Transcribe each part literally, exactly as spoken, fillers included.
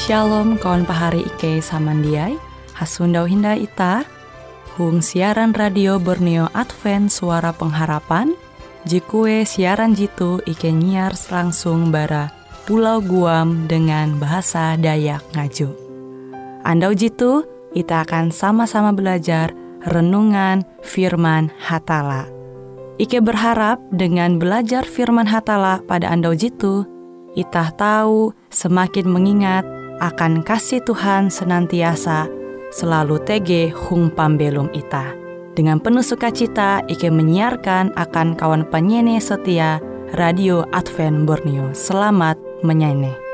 Shalom kawan pahari Ike samandiai, hasundau hinda ita, hung siaran radio Borneo Advent Suara Pengharapan, jikue siaran jitu Ike nyiar langsung bara Pulau Guam dengan bahasa Dayak Ngaju. Andau jitu, kita akan sama-sama belajar renungan firman Hatala. Ike berharap dengan belajar firman Hatala pada andau jitu, kita tahu semakin mengingat akan kasih Tuhan senantiasa selalu tege hung pambelum ita. Dengan penuh sukacita, Ike menyiarkan akan kawan penyanyi setia Radio Advent Borneo. Selamat menyanyi.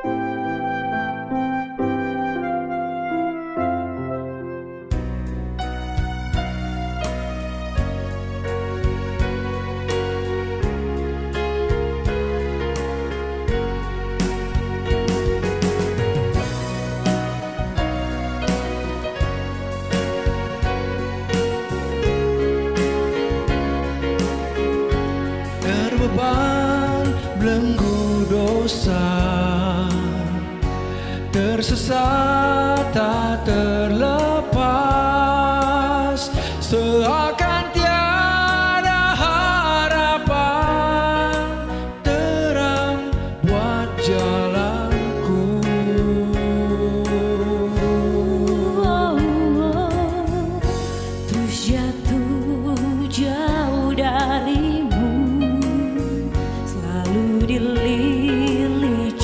Belenggu dosa, tersesat tak terlepas, seakan tiada harapan, terang buat jalanku. Oh, oh, terus jatuh jauh darimu, dilili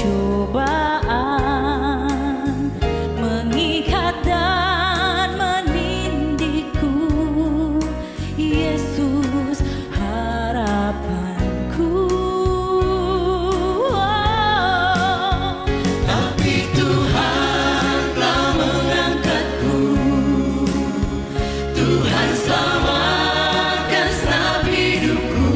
cobaan, mengikat dan menindihku. Yesus harapanku. Oh, tapi Tuhan telah mengangkatku. Tuhan selamatkan segenap hidupku.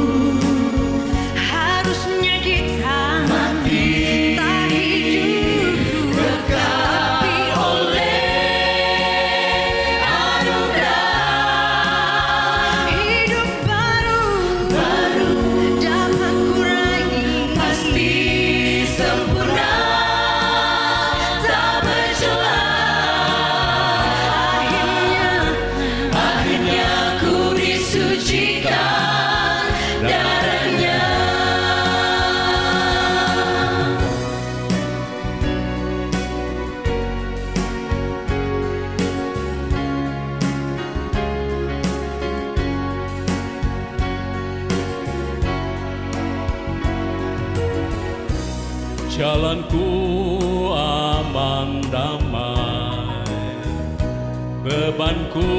Jalanku aman damai, bebanku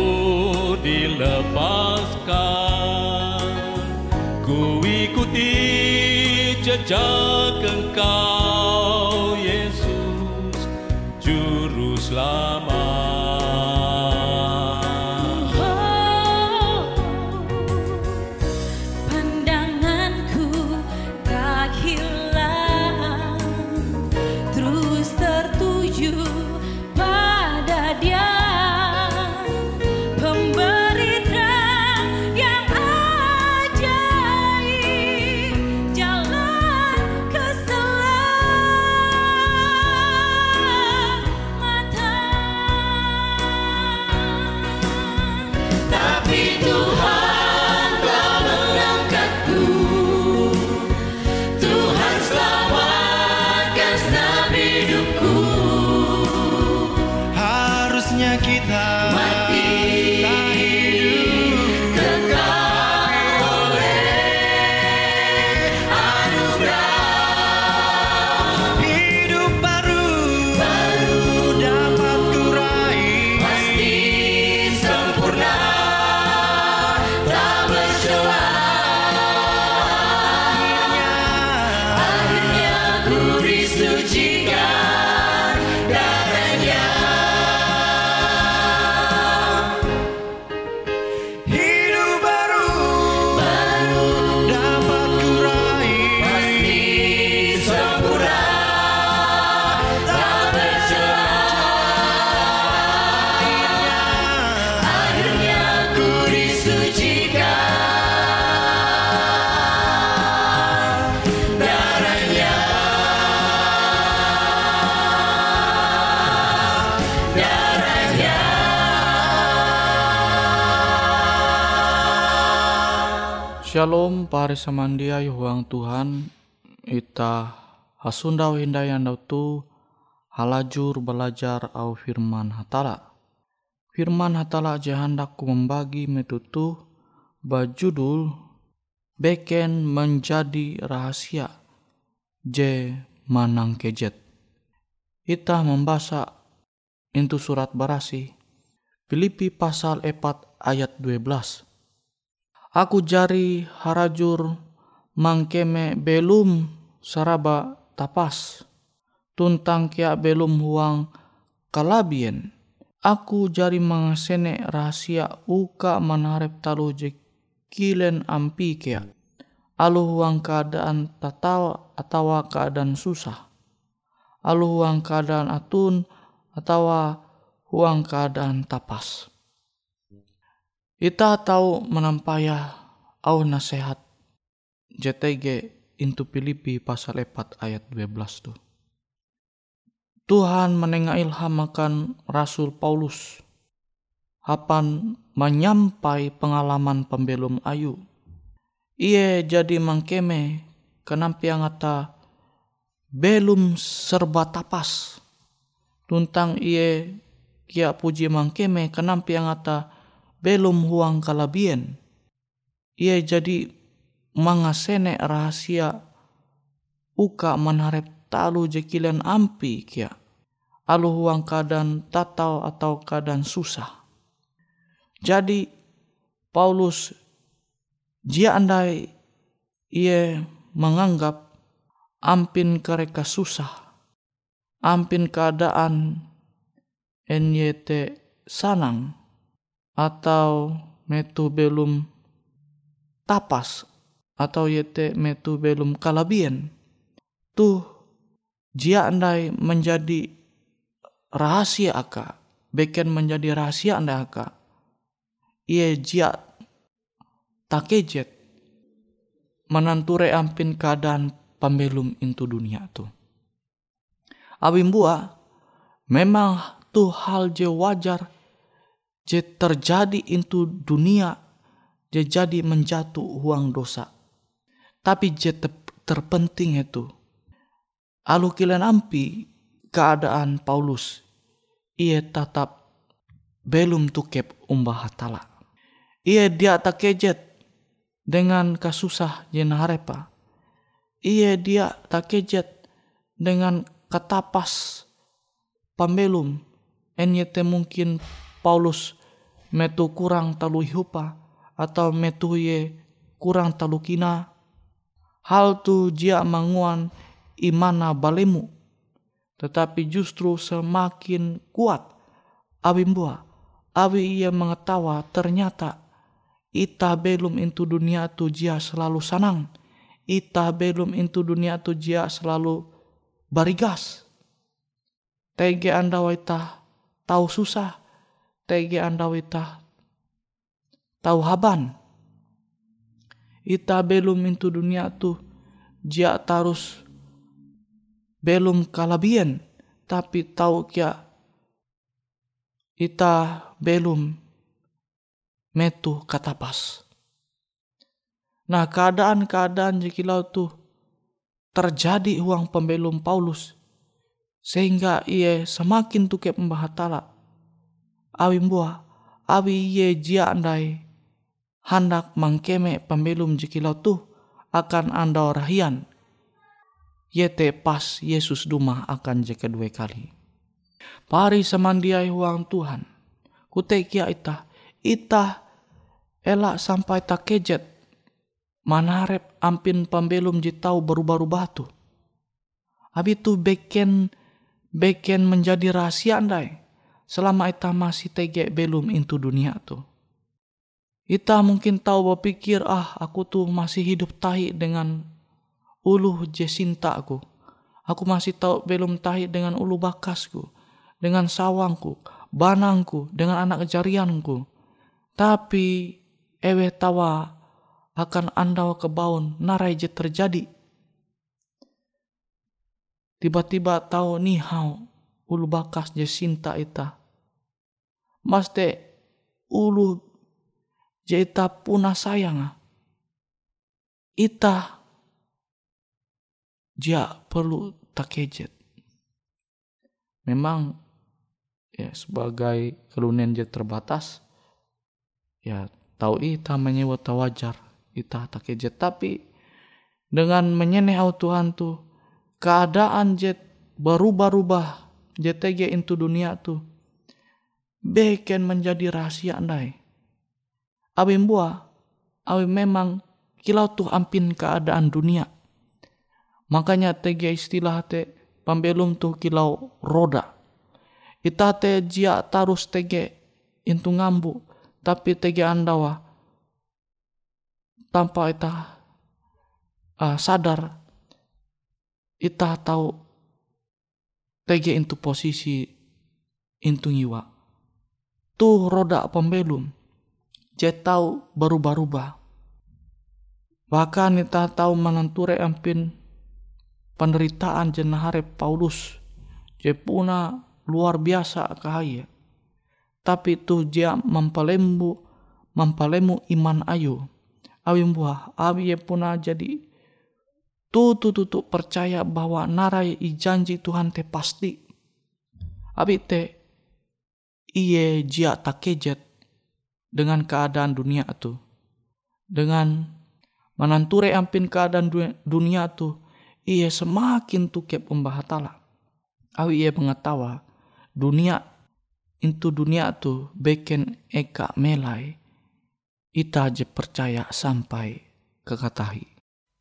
dilepaskan, ku ikuti jejak Engkau, Yesus, Juru Selamat. Jalan keselamatan. Shalom pare samandiai huang Tuhan, ita hasundau hindai andau tu halajur belajar au firman hatala. Firman hatala je hendak ku membagi metutu bajudul beken menjadi rahasia je manang kejet. Ita membaca into surat barasi Filipi pasal empat ayat dua belas. Aku jari harajur mangkeme belum saraba tapas, tuntang kia belum huang kalabien. Aku jari mangasene rahasia uka manarep talu je kilen ampi kia. Alu huang keadaan tatawa atau keadaan susah. Alu huang keadaan atun atau huang keadaan tapas. Ita tahu menampaya au nasihat J T G into Filipi pasal empat ayat dua belas tu. Tuhan menenga ilham akan Rasul Paulus hapan menyampai pengalaman pembelum ayu. Ia jadi mangkeme kenampi angata belum serba tapas. Tuntang ia kia puji mangkeme kenampi angata belum huang kalabien. Ia jadi mangasene rahasia uka manharep talu jekilen ampi kia. Alu huang keadaan tatau atau keadaan susah. Jadi Paulus jia andai ia menganggap ampin kereka susah. Ampin keadaan N Y T sanang. Atau metu belum tapas atau yete metu belum kalabien. Tuh jia andai menjadi rahasia aka, beken menjadi rahasia andai aka. Ia jia takejet menanture ampin keadaan pembelum into dunia tu. Abimbua memang tuh hal je wajar je terjadi into dunia je jadi menjatuh huang dosa. Tapi je terpenting itu alu kilen ampi keadaan Paulus ia tetap belum tukep umbah hatala. Ia dia tak kejet dengan kasusah jen harepa. Ia dia tak kejet dengan katapas pambelum. Enyete mungkin Paulus metu kurang talu hiupa atau metu ye kurang talu kina. Hal tu jia manguan imana balemu. Tetapi justru semakin kuat abimbua. Abi ia mengetawa ternyata ita belum into dunia tu jia selalu sanang. Ita belum into dunia tu jia selalu barigas. Tege anda waita tahu susah. Tege anda wita tahu haban. Ita belum into dunia tu jia tarus belum kalabien. Tapi tahu kia ita belum metu katapas. Nah keadaan-keadaan jekilau tu terjadi huang pembelum Paulus. Sehingga ia semakin tukep membahatala. Awi mbua, awi ye jia andai hendak mangkeme pembelum jekilau tu akan andau rahian. Yete pas Yesus duma akan je kedua kali. Pari samandiai huang Tuhan. Kutekia ita, ita elak sampai tak kejet. Manarep ampin pembelum jitau baru-baru batu. Abi tu beken beken menjadi rahasia andai. Selama ita masih tege belum into dunia tu. Ita mungkin tahu berpikir, ah aku tuh masih hidup tahi dengan ulu jesinta aku. Aku masih tahu belum tahi dengan ulu bakasku. Dengan sawangku, banangku, dengan anak kejarianku. Tapi ewe tawa akan andau kebaun narai je terjadi. Tiba-tiba tahu nihau ulu bakas jesinta ita. Mas te ulu je ita punah sayang. ita dia perlu takejet. Memang ya sebagai kelunian dia terbatas, ya tahu ita menyewa wajar ita takejet, tapi dengan menyeneh au Tuhan tuh keadaan jet berubah-ubah J T G into dunia tuh beken menjadi rahasia andai. Awin buah, awin memang kilau tuh ampin keadaan dunia. Makanya T G istilah te pambelum tuh kilau roda. Ita te jia tarus T G into ngambu, tapi T G andawa tanpa ita uh, sadar, ita tahu T G into posisi into ngiwa. Tuh roda pembelum, jet tahu berubah-ubah. Bahkan ita tahu menenture ampin penderitaan jenahare Paulus, je puna luar biasa kahaya. Tapi tuh dia mempelemu, mempelemu iman ayu. Awin buah, awi puna jadi tuh tuh tuh tuh percaya bahwa narai i janji Tuhan te pasti. Abi te iye jia takejet dengan keadaan dunia tu, dengan menanture ampin keadaan dunia tu, iye semakin tukep pembahatala. Awi iye mengetawa dunia itu dunia tu beken eka melai, ita je percaya sampai kekatahi.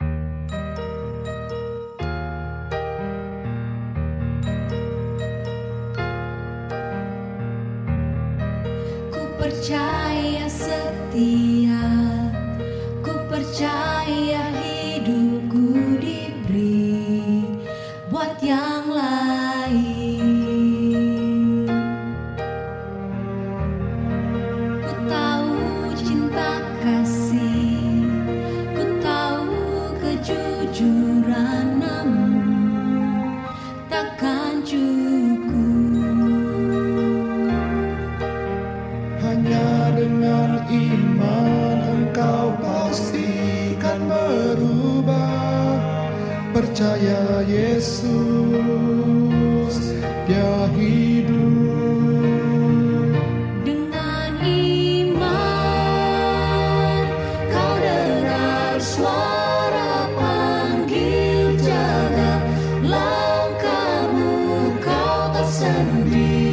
Percaya setia, ku percaya hidupku diberi buat yang lain. Ku tahu cinta kasih, ku tahu kejujuran, namun takkan cukup. Dengan iman engkau pastikan berubah. Percaya Yesus, Dia hidup. Dengan iman kau dengar suara panggil, jaga langkahmu, kau tak sendiri.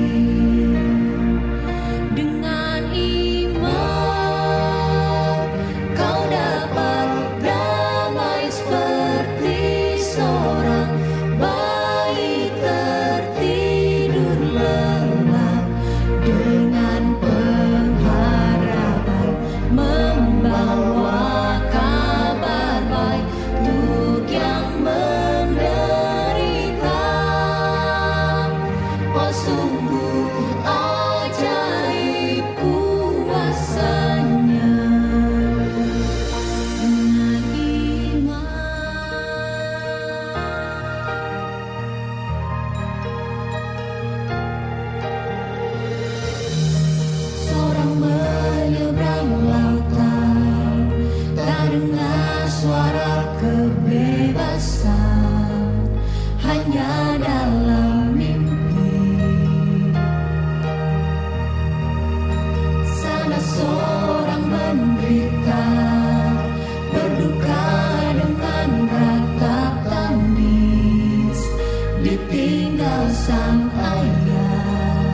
Sang ayah,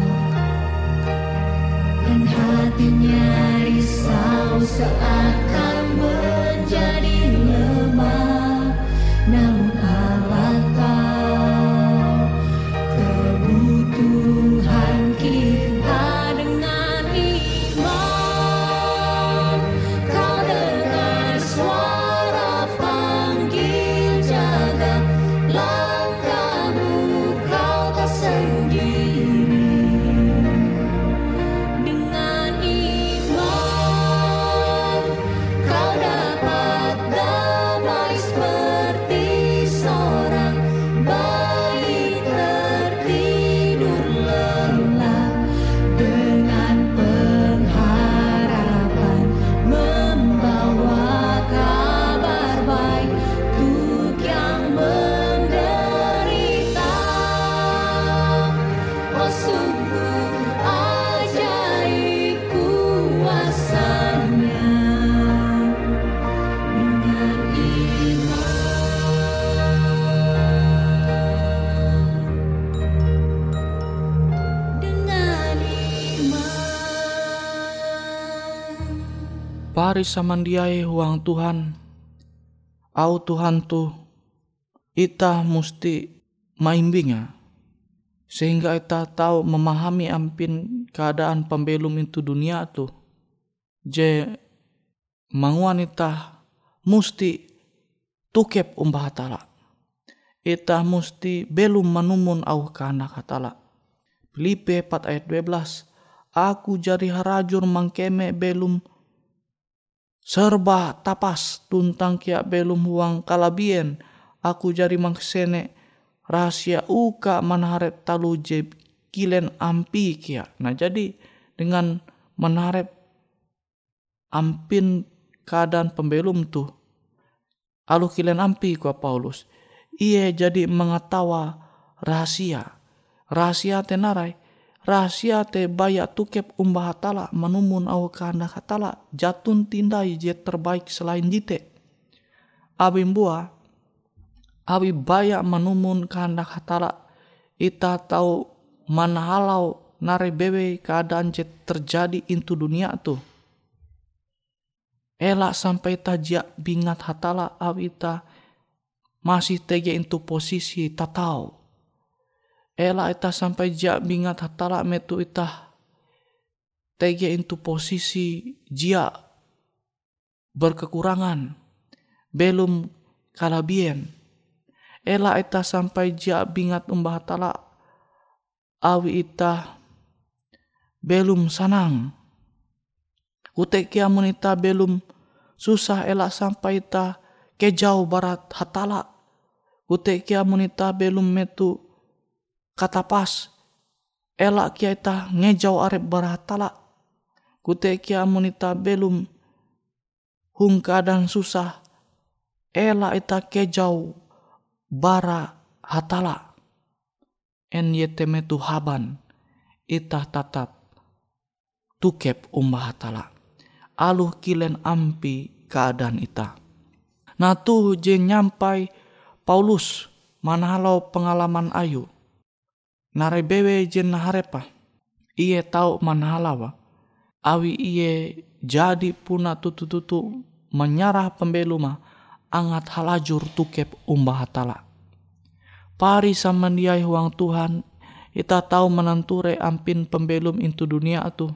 dan hatinya risau seakan menjadi lemah, namun Allah tahu kebutuhan kita. Dengan iman kau dengar suara panggil, jaga langkahmu, kau tak sendiri. Dengan iman Pari samandiai huang Tuhan, au Tuhan tu ita musti maimbinga sehingga ita tahu memahami ampin keadaan pembelum itu dunia tu. Je manguan ita musti tukep umbah hatala. Ita musti belum manumun au kehendak hatala. Filipi empat ayat dua belas. Aku jadi harajur mangkeme belum serba tapas tuntang kia belum huang kalabien. Aku jadi mangsene rahasia uka manharep talu je kilen ampi kia. Nah jadi dengan menharep ampin keadaan pembelum tu alu kilen ampi kua Paulus. Ia jadi mengetawa rahasia. Rahasia tenarai. Rahasia te baya tukep umbah hatala manumun au kehendak hatala jatun tindai je terbaik selain jite. Abi mbua abi baya manumun kehendak hatala ita tahu manahalau nare bewe keadaan je terjadi intu dunia tu. Elak sampai tajak bingat hatala abi ita masih tege intu posisi tatau. Ela ita sampai jak bingat hatala metu ita tege intu posisi jia berkekurangan belum kalabien. Ela ita sampai jak bingat umbah hatala awi ita belum sanang. Kutek kiamun ita belum susah ela sampai ita kejauh barat hatala. Kutek kiamun ita belum metu kata pas elak kia ita ngejau arep barahatala. Kute kia munita belum hung keadaan susah elak ita kejau bara hatala. En yeteme tuhaban ita tatap tukep umbah hatala. Aluh kilen ampi keadaan ita. Nah tuh je nyampai Paulus manahalau pengalaman ayu. Nare bewe jen harepa. Iye tau manhalawa. Awi iye jadi puna tutu-tutu menyarah pembeluma angat halajur tukep umbah hatala. Pari samandiai huang Tuhan ita tahu menanture ampin pembelum intu dunia atu.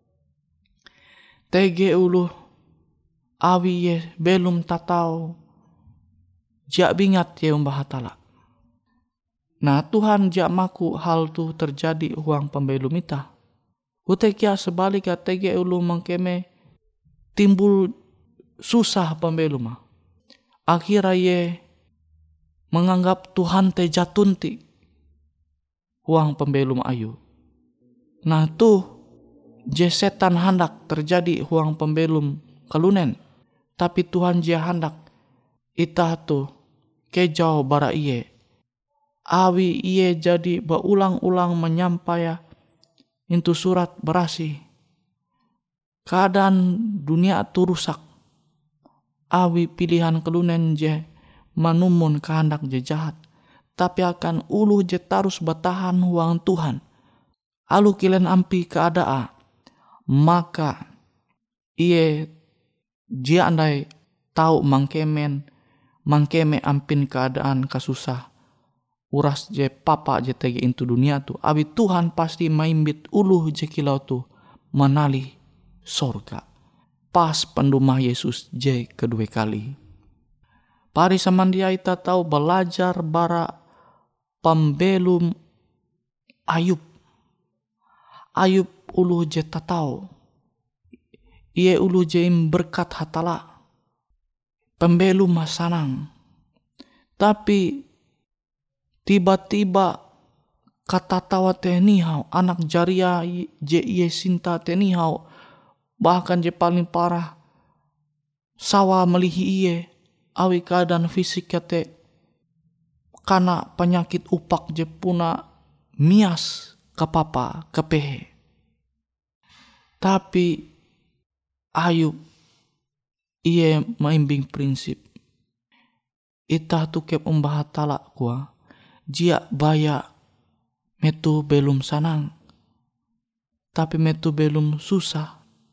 Tege ulu awi ye belum tatau jak bingat ye umbah hatala. Nah Tuhan jak maku hal tu terjadi huang pembelum ita. Utekia sebaliknya tege ulu mengkeme timbul susah pembelum. Akhirnya ye menganggap Tuhan te jatunti huang pembelum ayu. Nah tuh je setan hendak terjadi huang pembelum kalunen. Tapi Tuhan je hendak ita tu kejauh bara iye. Awi iye jadi berulang-ulang menyampaya intu surat berasi. Keadaan dunia tu rusak. Awi pilihan kelunen je manumun kehendak je jahat. Tapi akan ulu je tarus bertahan huang Tuhan. Alu kilen ampi keadaan. Maka iye je andai tahu mangkemen mangkeme ampin keadaan kasusah. Uras je papa je tege intu dunia tu. Abi Tuhan pasti maimbit uluh je kilau tu menali sorga. Pas pendumah Yesus je kedua kali. Pari samandia ita tahu belajar bara pembelum Ayub. Ayub uluh je tatau. Ie uluh je berkat hatala. Pembelum masanang. Tapi tiba-tiba kata tawa tenihau anak jaria je iye sinta tenihau bahkan je paling parah sawa melihi iye awi keadaan fisik kate karena penyakit upak je puna mias kapapa kepehe. Tapi Ayub iye maimbing prinsip ita tukep umbah hatala kuah. Jia baya metu belum sanang. Tapi metu belum susah.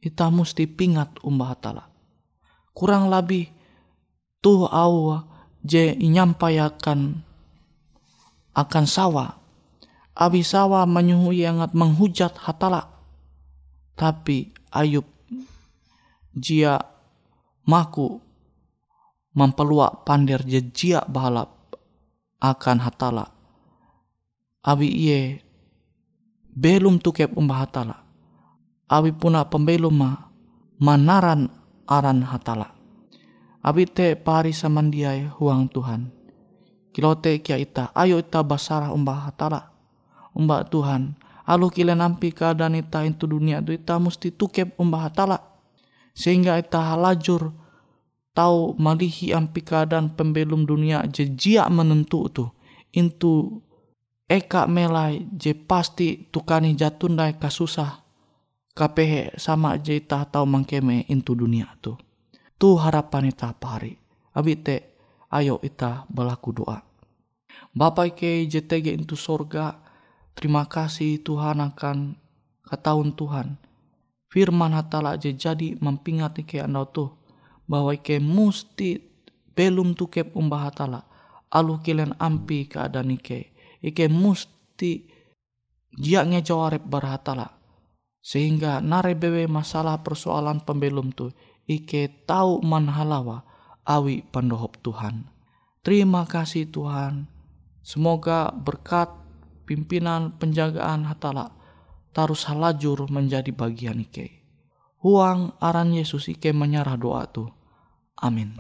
ita musti pingat umbah hatala. Kurang lebih tuh au je inyampayakan akan sawa. Abi sawa menyuhui angat menghujat hatala. Tapi Ayub jia maku mempeluak pandir je jia bahalap akan hatala. Abi iye belum tukep umbah hatala. Abi puna pembelum ma manaran aran hatala. Abi te pari samandiai huang Tuhan. Kilote kia ita, ayo ita basarah umbah hatala. Umbah Tuhan, alu kile nampi keadaan ita itu dunia itu ita mesti tukep umbah hatala. Sehingga ita halajur tahu malihi ampi keadaan pembelum dunia je jia menentu tu. Intu eka melai je pasti tukani jatundai kasusah. Kapehe sama je ita tahu mangkeme intu dunia tu. Tu harapan ita pari. Abi te ayo ita berlaku doa. Bapa ke J T G itu sorga, terima kasih Tuhan akan ketahuan Tuhan. Firman hatala je jadi mempingat ke andau tuh bahwa ke musti belum tukep umbah hatala. Alu kilen ampi keadaan ike. Ike musti jia ngejawarep berhatala. Sehingga narebewe masalah persoalan pembelum tuh. Ike tahu manhalawa awi pandohop Tuhan. Terima kasih Tuhan. Semoga berkat pimpinan penjagaan hatala tarus halajur menjadi bagian ike. Huang aran Yesus ike menyerah doa tu. Amin.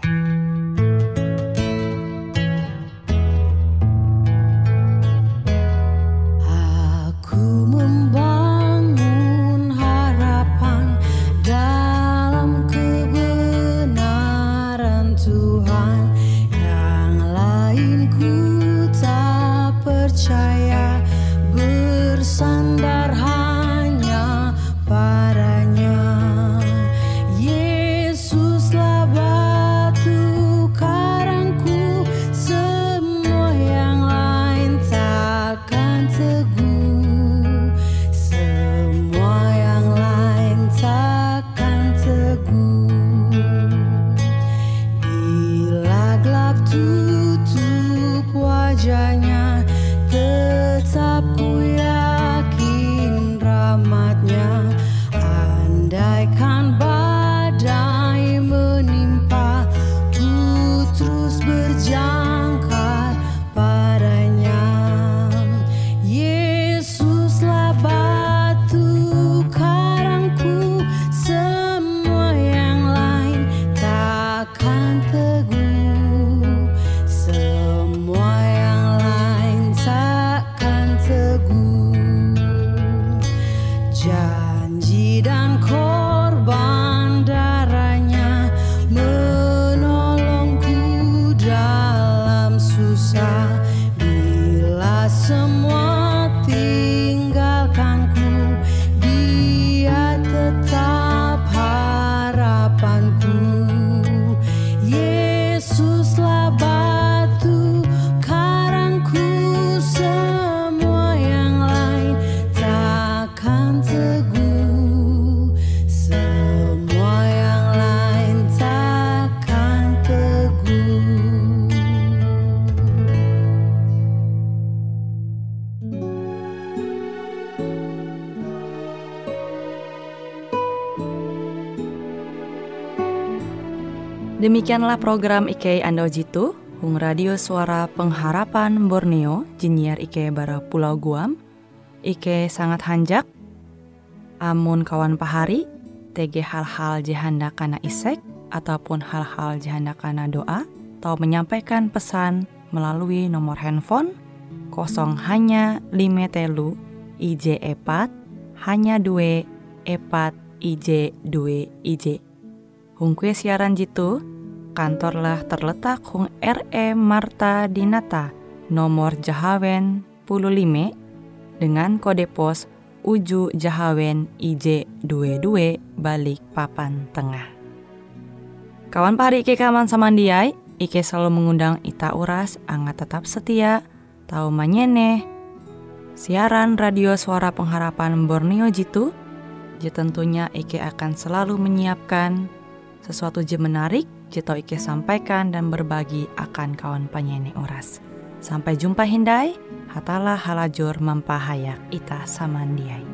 Aku membangun harapan dalam kebenaran Tuhan. Yang lain ku tak percaya, bersandar hanya padanya. Yesuslah batu karangku, semua yang lain takkan teguh. Semua yang lain takkan teguh. Bila gelap tutup wajahnya, tetap ku yakin rahmatnya. Andaikan badai menimpa, ku terus berjangkar padanya. Yesuslah batu karangku, semua yang lain takkan teguh. Semua yang lain takkan teguh. Janji dan korban darahnya menolongku dalam susah. Bila semua tinggalkanku, Dia tetap harapanku. Yesuslah batu karangku, semua yang lain takkan teguh. Semua yang lain takkan teguh. Demikianlah program I K Ando Jitu, Hung Radio Suara Pengharapan Borneo, Jinnyar I K bara Pulau Guam. I K sangat hanjak, amun kawan pahari, T G hal-hal jihanda kana isek, ataupun hal-hal jihanda kana doa, atau menyampaikan pesan melalui nomor handphone kosong hanya lima telu I J epat hanya dua epat I J dua I J. Hung kue siaran jitu, kantorlah terletak Hung R E Marta Dinata, nomor Jahawen puluh lima, dengan kode pos Uju Jahawen I J dua dua balik papan tengah. Kawan pahari Ike kaman samandiai, Ike selalu mengundang ita uras, angga tetap setia, tahu manyene, siaran radio suara pengharapan Borneo jitu, je tentunya Ike akan selalu menyiapkan sesuatu je menarik, je tau Ike sampaikan dan berbagi akan kawan penyanyi oras. Sampai jumpa Hindai, hatalah halajur mempahayak ita samandiai.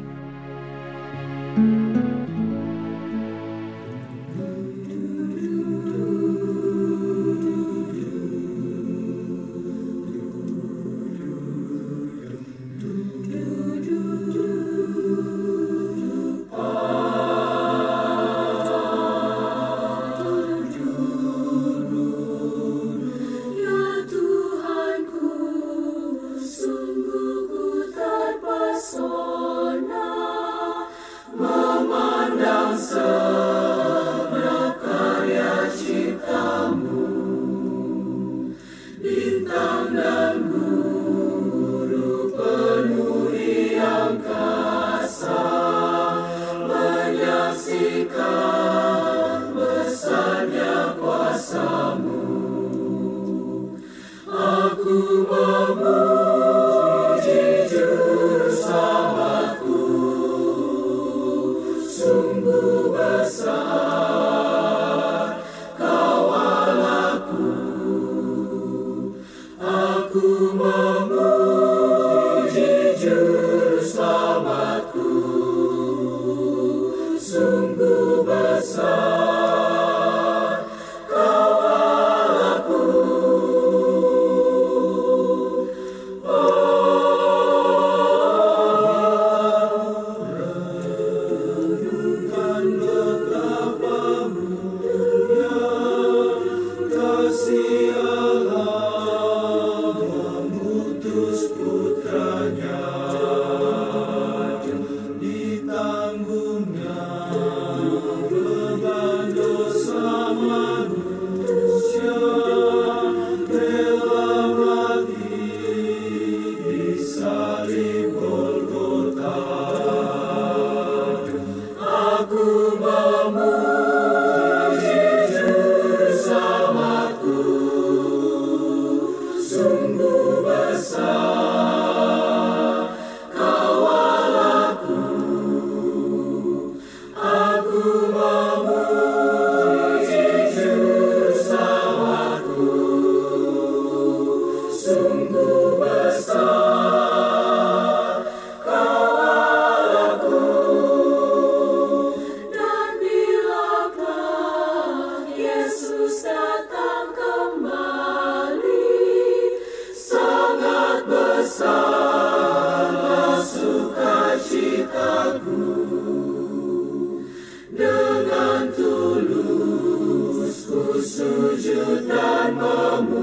Dengan tulus ku sujud dan memuji.